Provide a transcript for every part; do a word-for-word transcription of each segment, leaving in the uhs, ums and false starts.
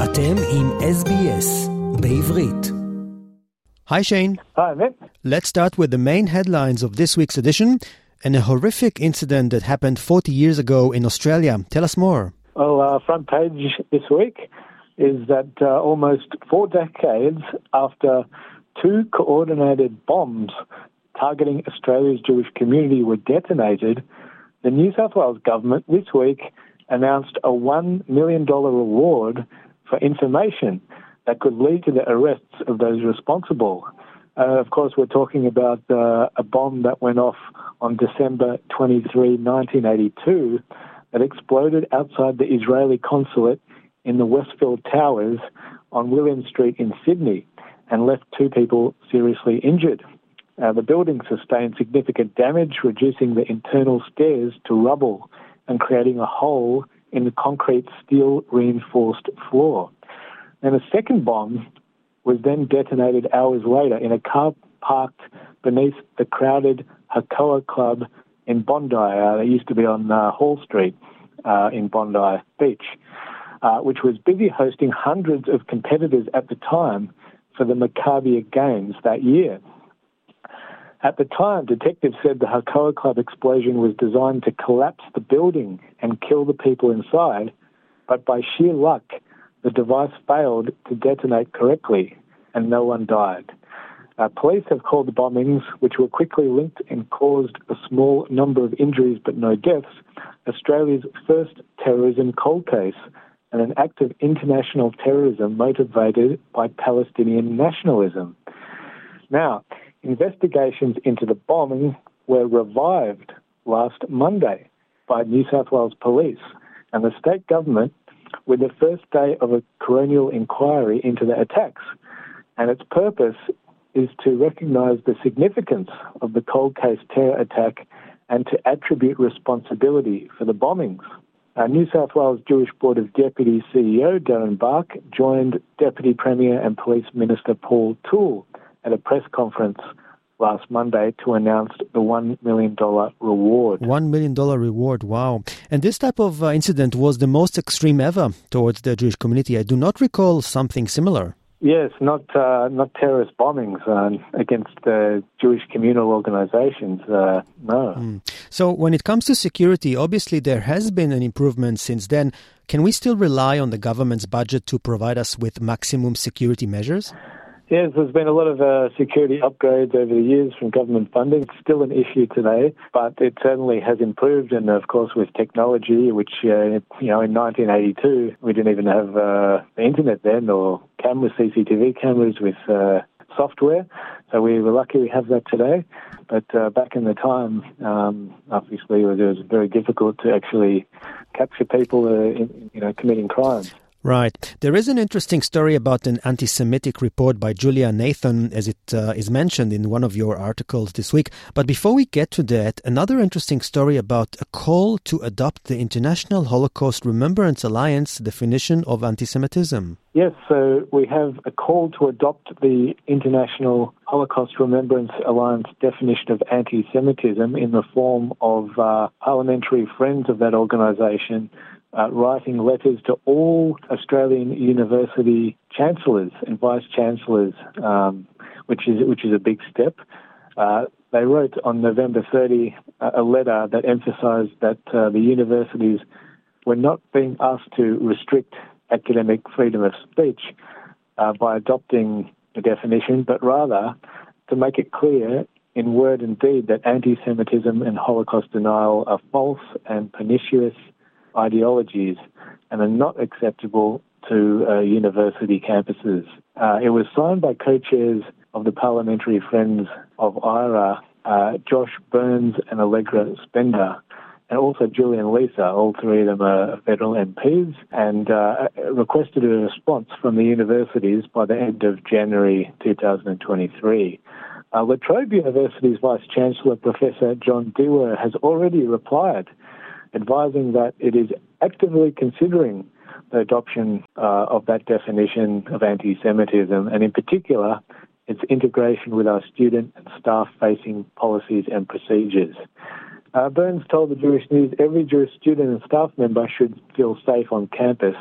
אתם עם S B S בעברית. Hi Shane. Hi, Matt. Let's start with the main headlines of this week's edition and a horrific incident that happened forty years ago in Australia. Tell us more. Well, uh, front page this week is that uh, almost four decades after two coordinated bombs targeting Australia's Jewish community were detonated, the New South Wales government this week announced a one million dollars reward for information that could lead to the arrests of those responsible. Uh, of course, we're talking about uh, a bomb that went off on December twenty-third, nineteen eighty-two, that exploded outside the Israeli consulate in the Westfield Towers on William Street in Sydney and left two people seriously injured. Uh, the building sustained significant damage, reducing the internal stairs to rubble and creating a hole in the concrete steel-reinforced floor. And a second bomb was then detonated hours later in a car parked beneath the crowded Hakoah Club in Bondi. Uh, they used to be on uh, Hall Street uh, in Bondi Beach, uh, which was busy hosting hundreds of competitors at the time for the Maccabia Games that year. At the time, detectives said the Hakoah Club explosion was designed to collapse the building and kill the people inside, but by sheer luck, the device failed to detonate correctly and no one died. Uh, police have called the bombings, which were quickly linked and caused a small number of injuries but no deaths, Australia's first terrorism cold case and an act of international terrorism motivated by Palestinian nationalism. Now, investigations into the bombing were revived last Monday by New South Wales Police and the state government with the first day of a coronial inquiry into the attacks. And its purpose is to recognise the significance of the cold case terror attack and to attribute responsibility for the bombings. Our New South Wales Jewish Board of Deputies C E O Darren Bark joined Deputy Premier and Police Minister Paul Toole at a press conference last Monday to announce the one million dollars reward. one million dollars reward, wow. And this type of uh, incident was the most extreme ever towards the Jewish community. I do not recall something similar. Yes, not uh, not terrorist bombings uh, against uh, Jewish communal organizations, uh, no. Mm. So when it comes to security, obviously there has been an improvement since then. Can we still rely on the government's budget to provide us with maximum security measures? Yes, there's been a lot of uh, security upgrades over the years from government funding. It's still an issue today, but it certainly has improved. And of course, with technology, which, uh, you know, in nineteen eighty-two, we didn't even have uh, the internet then or cameras, C C T V cameras with uh, software. So we were lucky we have that today. But uh, back in the time, um, obviously, it was, it was very difficult to actually capture people, uh, in, you know, committing crimes. Right. There is an interesting story about an anti-Semitic report by Julia Nathan, as it uh, is mentioned in one of your articles this week. But before we get to that, another interesting story about a call to adopt the International Holocaust Remembrance Alliance definition of anti-Semitism. Yes, so we have a call to adopt the International Holocaust Remembrance Alliance definition of anti-Semitism in the form of uh, parliamentary friends of that organisation Uh, writing letters to all Australian university chancellors and vice-chancellors, um, which is which is a big step. Uh, they wrote on November thirtieth uh, a letter that emphasised that uh, the universities were not being asked to restrict academic freedom of speech uh, by adopting the definition, but rather to make it clear in word and deed that anti-Semitism and Holocaust denial are false and pernicious ideologies and are not acceptable to uh, university campuses. Uh, it was signed by co-chairs of the Parliamentary Friends of I R A, uh, Josh Burns and Allegra Spender, and also Julian Lisa. All three of them are federal M Ps, and uh, requested a response from the universities by the end of January two thousand twenty-three. Uh, La Trobe University's Vice-Chancellor, Professor John Dewar, has already replied, advising that it is actively considering the adoption uh, of that definition of anti-Semitism, and in particular, its integration with our student and staff-facing policies and procedures. Uh, Burns told the Jewish News every Jewish student and staff member should feel safe on campus,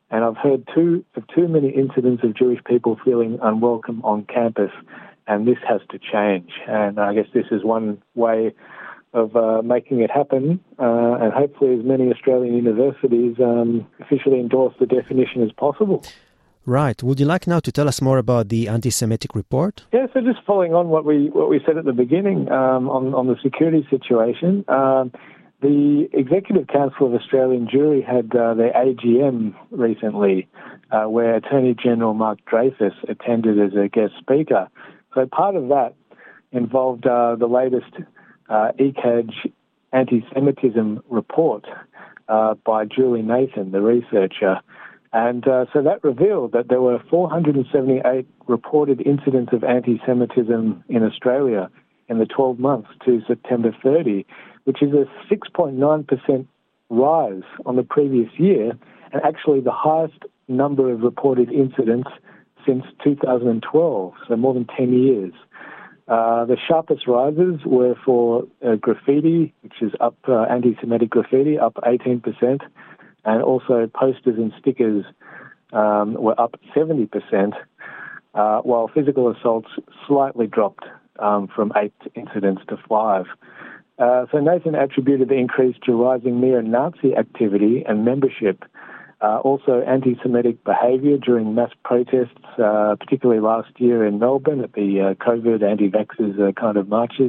And I've heard too, of too many incidents of Jewish people feeling unwelcome on campus, and this has to change. And I guess this is one way of uh, making it happen, uh, and hopefully as many Australian universities um, officially endorse the definition as possible. Right. Would you like now to tell us more about the anti-Semitic report? Yeah, so just following on what we what we said at the beginning um, on, on the security situation, um, the Executive Council of Australian Jewry had uh, their A G M recently, uh, where Attorney General Mark Dreyfus attended as a guest speaker. So part of that involved uh, the latest uh, E C A J anti-Semitism report uh, by Julie Nathan, the researcher. And uh, so that revealed that there were four hundred seventy-eight reported incidents of anti-Semitism in Australia in the twelve months to September thirtieth, which is a six point nine percent rise on the previous year, and actually the highest number of reported incidents since two thousand twelve, so more than ten years. Uh, the sharpest rises were for uh, graffiti, which is up, uh, anti-Semitic graffiti, up eighteen percent, and also posters and stickers um, were up seventy percent, uh, while physical assaults slightly dropped um, from eight incidents to five. Uh, so Nathan attributed the increase to rising neo-Nazi activity and membership, uh, also anti-Semitic behaviour during mass protests, uh, particularly last year in Melbourne at the uh, COVID anti-vaxxers uh, kind of marches,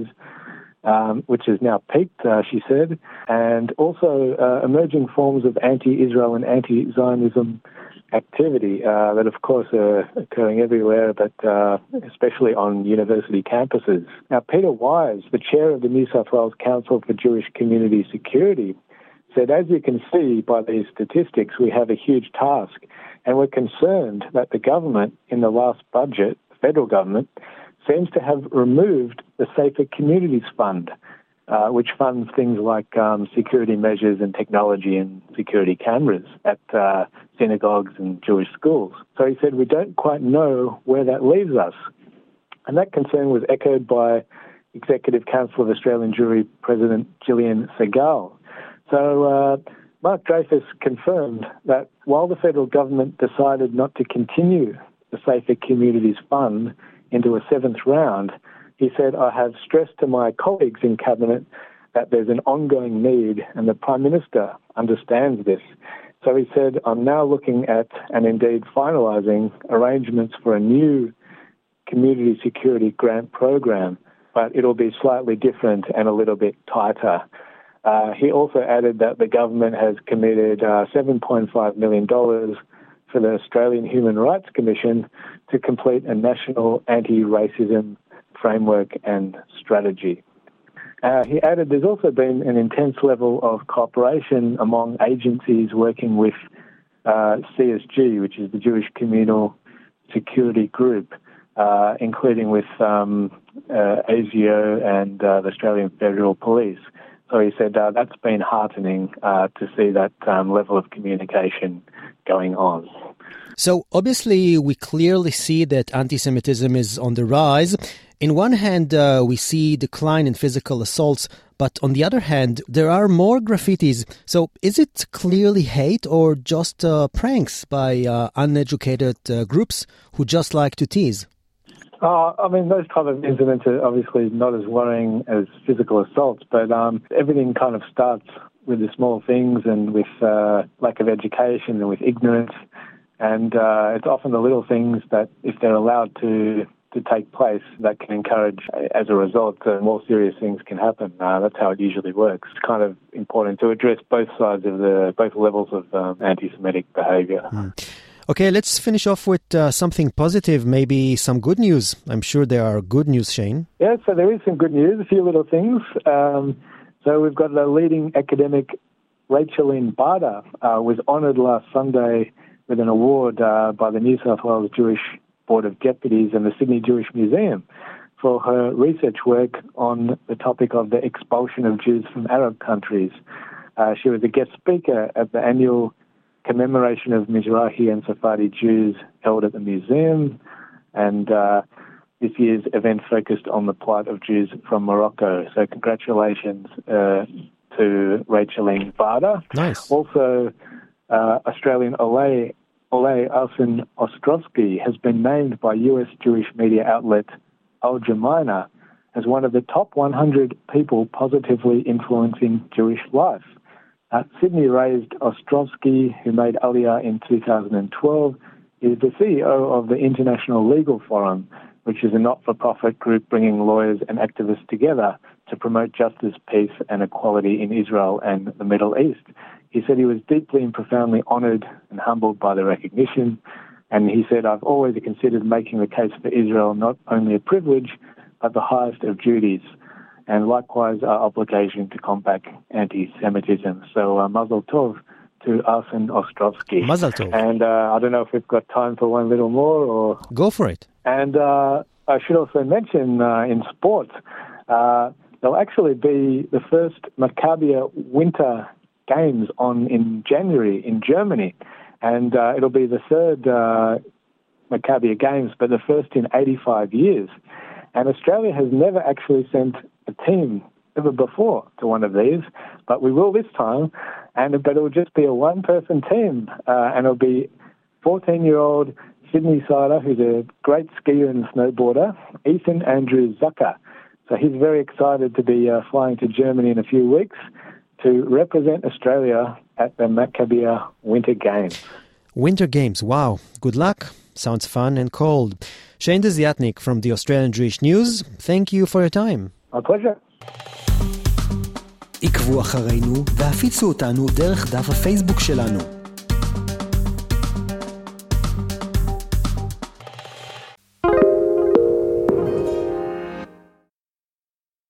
um, which has now peaked, uh, she said, and also uh, emerging forms of anti-Israel and anti-Zionism activity uh, that, of course, are occurring everywhere, but uh, especially on university campuses. Now, Peter Wise, the chair of the New South Wales Council for Jewish Community Security, said, as you can see by these statistics, we have a huge task, and we're concerned that the government in the last budget, the federal government, seems to have removed the Safer Communities Fund, uh, which funds things like um, security measures and technology and security cameras at uh, synagogues and Jewish schools. So he said, we don't quite know where that leaves us. And that concern was echoed by Executive Council of Australian Jewry President Gillian Segal. So uh, Mark Dreyfus confirmed that while the federal government decided not to continue the Safer Communities Fund into a seventh round, he said, I have stressed to my colleagues in Cabinet that there's an ongoing need, and the Prime Minister understands this. So he said, I'm now looking at, and indeed finalising, arrangements for a new community security grant program, but it'll be slightly different and a little bit tighter. Uh, he also added that the government has committed uh, seven point five million dollars for the Australian Human Rights Commission to complete a national anti-racism framework and strategy. Uh, he added there's also been an intense level of cooperation among agencies working with uh, C S G, which is the Jewish Communal Security Group, uh, including with um, uh, ASIO and uh, the Australian Federal Police. So he said uh, that's been heartening uh, to see that um, level of communication going on. So obviously we clearly see that anti-Semitism is on the rise. In one hand, uh, we see decline in physical assaults, but on the other hand, there are more graffitis. So is it clearly hate or just uh, pranks by uh, uneducated uh, groups who just like to tease? Uh, I mean, those type of incidents are obviously not as worrying as physical assaults, but um, everything kind of starts with the small things and with uh, lack of education and with ignorance. And uh, it's often the little things that, if they're allowed to to take place, that can encourage, as a result, uh, more serious things can happen. Uh, that's how it usually works. It's kind of important to address both sides of the, both levels of um, anti-Semitic behaviour. Mm. Okay, let's finish off with uh, something positive, maybe some good news. I'm sure there are good news, Shane. Yeah, so there is some good news, a few little things. Um, so we've got the leading academic, Rachel-Lynn Barda, uh, was honoured last Sunday with an award uh, by the New South Wales Jewish Board of Deputies and the Sydney Jewish Museum for her research work on the topic of the expulsion of Jews from Arab countries. Uh, she was a guest speaker at the annual commemoration of Mizrahi and Sephardi Jews held at the museum, and uh, this year's event focused on the plight of Jews from Morocco. So congratulations uh, to Rachel-Lynn Barda. Nice. Also, uh, Australian Olay Ole Arsen Ostrovsky has been named by U S Jewish media outlet Al Jemina as one of the top one hundred people positively influencing Jewish life. Uh, Sydney-raised Ostrovsky, who made Aliyah in two thousand twelve, is the C E O of the International Legal Forum, which is a not-for-profit group bringing lawyers and activists together to promote justice, peace and equality in Israel and the Middle East. He said he was deeply and profoundly honoured and humbled by the recognition, and he said, I've always considered making the case for Israel not only a privilege, but the highest of duties, and likewise our obligation to combat anti-Semitism. So uh, Mazel Tov to Arsen Ostrovsky. Mazel Tov. And uh, I don't know if we've got time for one little more or... Go for it. And uh, I should also mention uh, in sport, uh, there'll actually be the first Maccabia Winter Games on in January in Germany. And uh, it'll be the third uh, Maccabia Games, but the first in eighty-five years. And Australia has never actually sent a team ever before to one of these, but we will this time. And but it'll just be a one-person team, uh, and it'll be fourteen-year-old Sydney Sider, who's a great skier and snowboarder, Ethan Andrew Zucker. So he's very excited to be uh, flying to Germany in a few weeks to represent Australia at the Maccabia Winter Games. Winter Games, wow. Good luck. Sounds fun and cold. Shane Desiatnik from the Australian Jewish News, thank you for your time. My pleasure. עקבו אחרינו והפיצו אותנו דרך דף הפייסבוק שלנו.